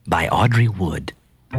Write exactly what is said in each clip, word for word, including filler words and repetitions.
by Audrey Wood.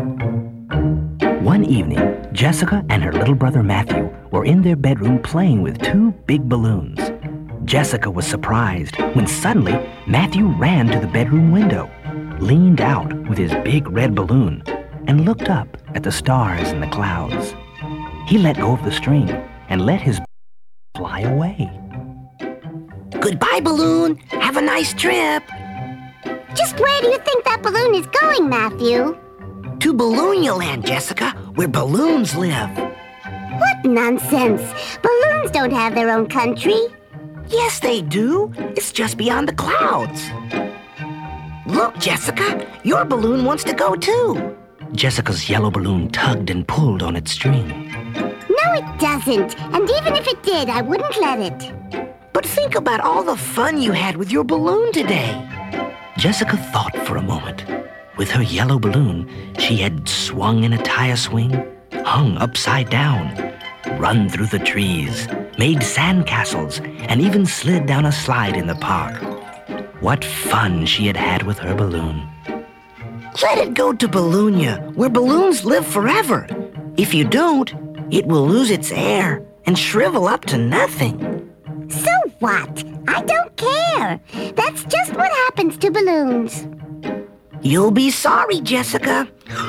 One evening, Jessica and her little brother Matthew were in their bedroom playing with two big balloons. Jessica was surprised when suddenly Matthew ran to the bedroom window, leaned out with his big red balloon, and looked up at the stars and the clouds. He let go of the string and let his fly away. Goodbye, balloon. Have a nice trip. Just where do you think that balloon is going, Matthew? To Balloonia Land, Jessica, where balloons live. What nonsense! Balloons don't have their own country. Yes, they do. It's just beyond the clouds. Look, Jessica, your balloon wants to go too. Jessica's yellow balloon tugged and pulled on its string. No, it doesn't. And even if it did, I wouldn't let it. But think about all the fun you had with your balloon today. Jessica thought for a moment. With her yellow balloon, she had swung in a tire swing, hung upside down, run through the trees, made sandcastles, and even slid down a slide in the park. What fun she had had with her balloon. Let it go to Balloonia, where balloons live forever. If you don't, it will lose its air and shrivel up to nothing. So what? I don't care. That's just what happens to balloons. You'll be sorry, Jessica.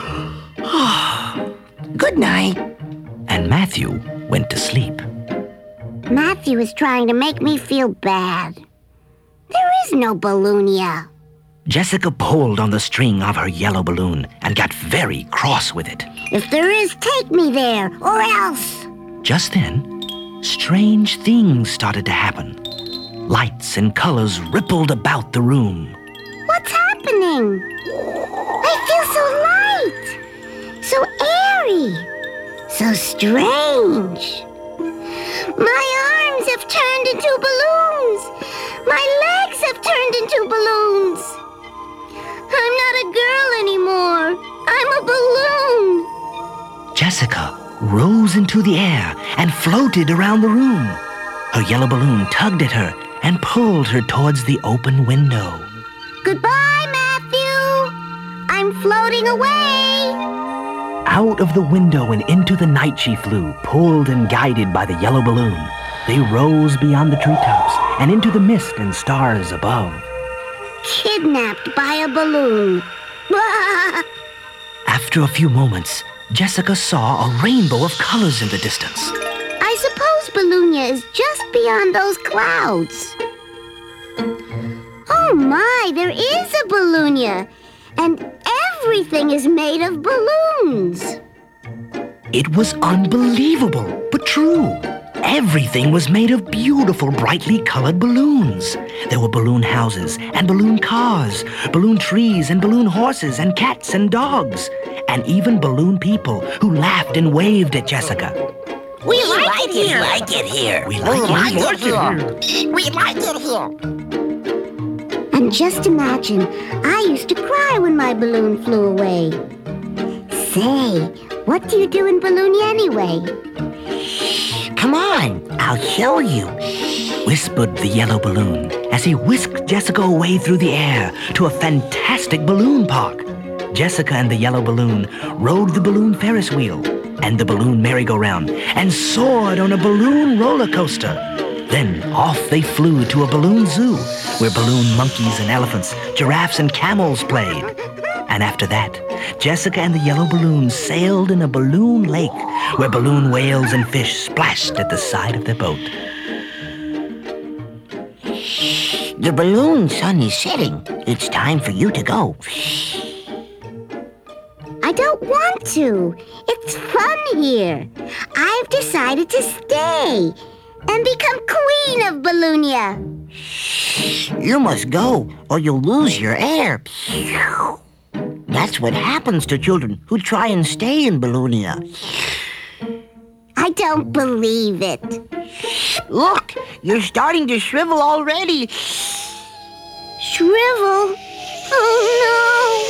Good night. And Matthew went to sleep. Matthew is trying to make me feel bad. There is no Balloonia. Jessica pulled on the string of her yellow balloon and got very cross with it. If there is, take me there, or else. Just then, strange things started to happen. Lights and colors rippled about the room. What's happening? I feel so light, so airy, so strange. My arms have turned into balloons. My legs have turned into balloons. I'm not a girl anymore. I'm a balloon. Jessica rose into the air and floated around the room. Her yellow balloon tugged at her and pulled her towards the open window. Goodbye, Matthew. I'm floating away. Out of the window and into the night she flew, pulled and guided by the yellow balloon. They rose beyond the treetops and into the mist and stars above. Kidnapped by a balloon. After a few moments, Jessica saw a rainbow of colors in the distance. I suppose Balloonia is just beyond those clouds. Oh my, there is a Balloonia, and everything is made of balloons. It was unbelievable, but true. Everything was made of beautiful, brightly colored balloons. There were balloon houses and balloon cars, balloon trees and balloon horses and cats and dogs, and even balloon people who laughed and waved at Jessica. We, we like, like it here. We like it here. We like, we it, like here. it here. We like it here. And just imagine, I used to cry when my balloon flew away. Say, what do you do in Balloonia anyway? Come on, I'll show you, whispered the yellow balloon as he whisked Jessica away through the air to a fantastic balloon park. Jessica and the yellow balloon rode the balloon Ferris wheel and the balloon merry-go-round and soared on a balloon roller coaster. Then off they flew to a balloon zoo where balloon monkeys and elephants, giraffes and camels played. And after that, Jessica and the yellow balloon sailed in a balloon lake where balloon whales and fish splashed at the side of their boat. The balloon sun is setting. It's time for you to go. I don't want to. It's fun here. I've decided to stay and become queen of Balloonia. You must go or you'll lose your air. That's what happens to children who try and stay in Balloonia. I don't believe it. Look, you're starting to shrivel already. Shrivel? Oh,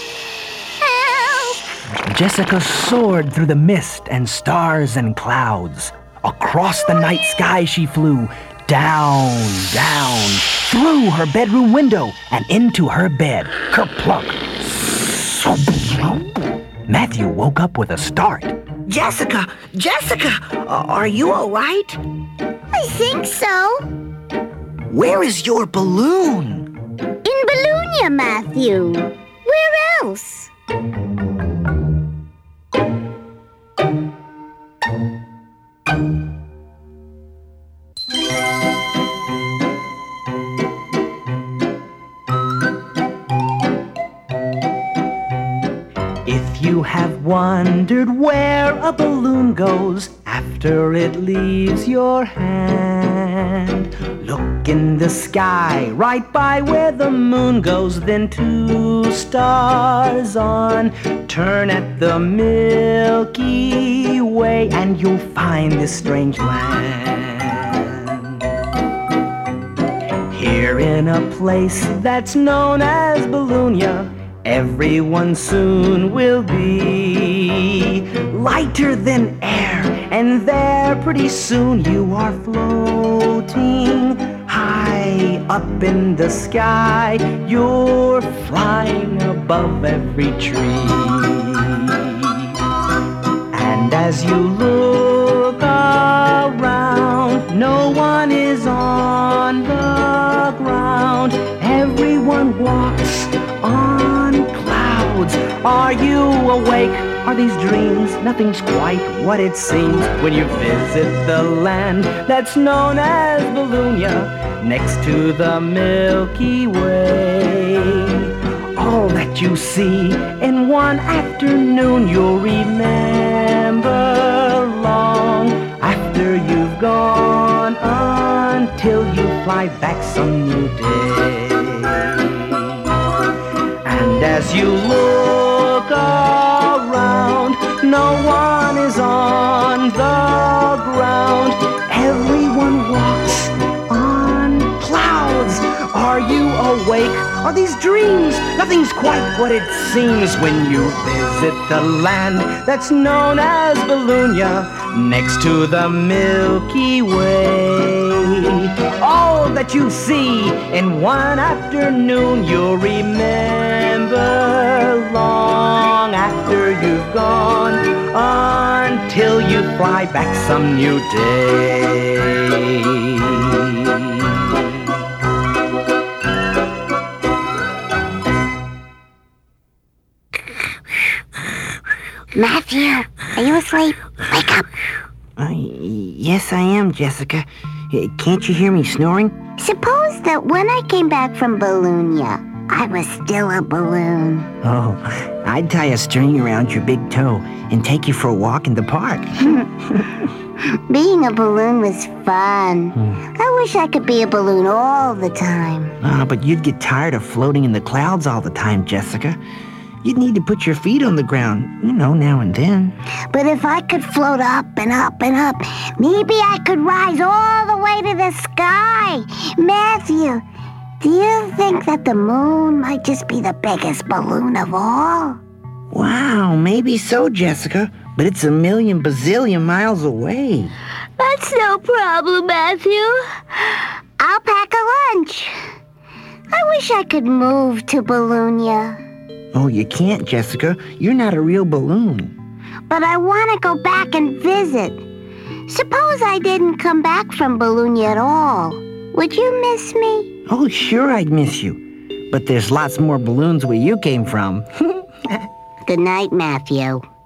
no. Help! Jessica soared through the mist and stars and clouds. Across the night sky she flew, down, down, through her bedroom window and into her bed. Kerplunk! Matthew woke up with a start. Jessica! Jessica! Uh, are you all right? I think so. Where is your balloon? In Bologna, Matthew. Where else? If you have wondered where a balloon goes after it leaves your hand, look in the sky right by where the moon goes, then two stars on. Turn at the Milky Way and you'll find this strange land. Here in a place that's known as Bologna, everyone soon will be lighter than air, and there pretty soon you are floating high up in the sky. You're flying above every tree. And as you look around, no one is on the ground. Everyone walks on clouds. Are you awake? Are these dreams? Nothing's quite what it seems when you visit the land that's known as Bologna, next to the Milky Way. All that you see in one afternoon you'll remember long after you've gone, until you fly back some new day. And as you look around, no one is on the ground. Everyone walks on clouds. Are you awake? Are these dreams? Nothing's quite what it seems when you visit the land that's known as Bologna, next to the Milky Way. All that you see in one afternoon you'll remember long after you've gone, until you fly back some new day. Matthew, are you asleep? Wake up. Uh, yes, I am, Jessica. Uh, Can't you hear me snoring? Suppose that when I came back from Bologna, I was still a balloon. Oh, I'd tie a string around your big toe and take you for a walk in the park. Being a balloon was fun. I wish I could be a balloon all the time. Uh, but you'd get tired of floating in the clouds all the time, Jessica. You'd need to put your feet on the ground, you know, now and then. But if I could float up and up and up, maybe I could rise all the way to the sky. Matthew, do you think that the moon might just be the biggest balloon of all? Wow, maybe so, Jessica. But it's a million bazillion miles away. That's no problem, Matthew. I'll pack a lunch. I wish I could move to Bologna. Oh, you can't, Jessica. You're not a real balloon. But I want to go back and visit. Suppose I didn't come back from Bologna at all. Would you miss me? Oh, sure I'd miss you. But there's lots more balloons where you came from. Good night, Matthew.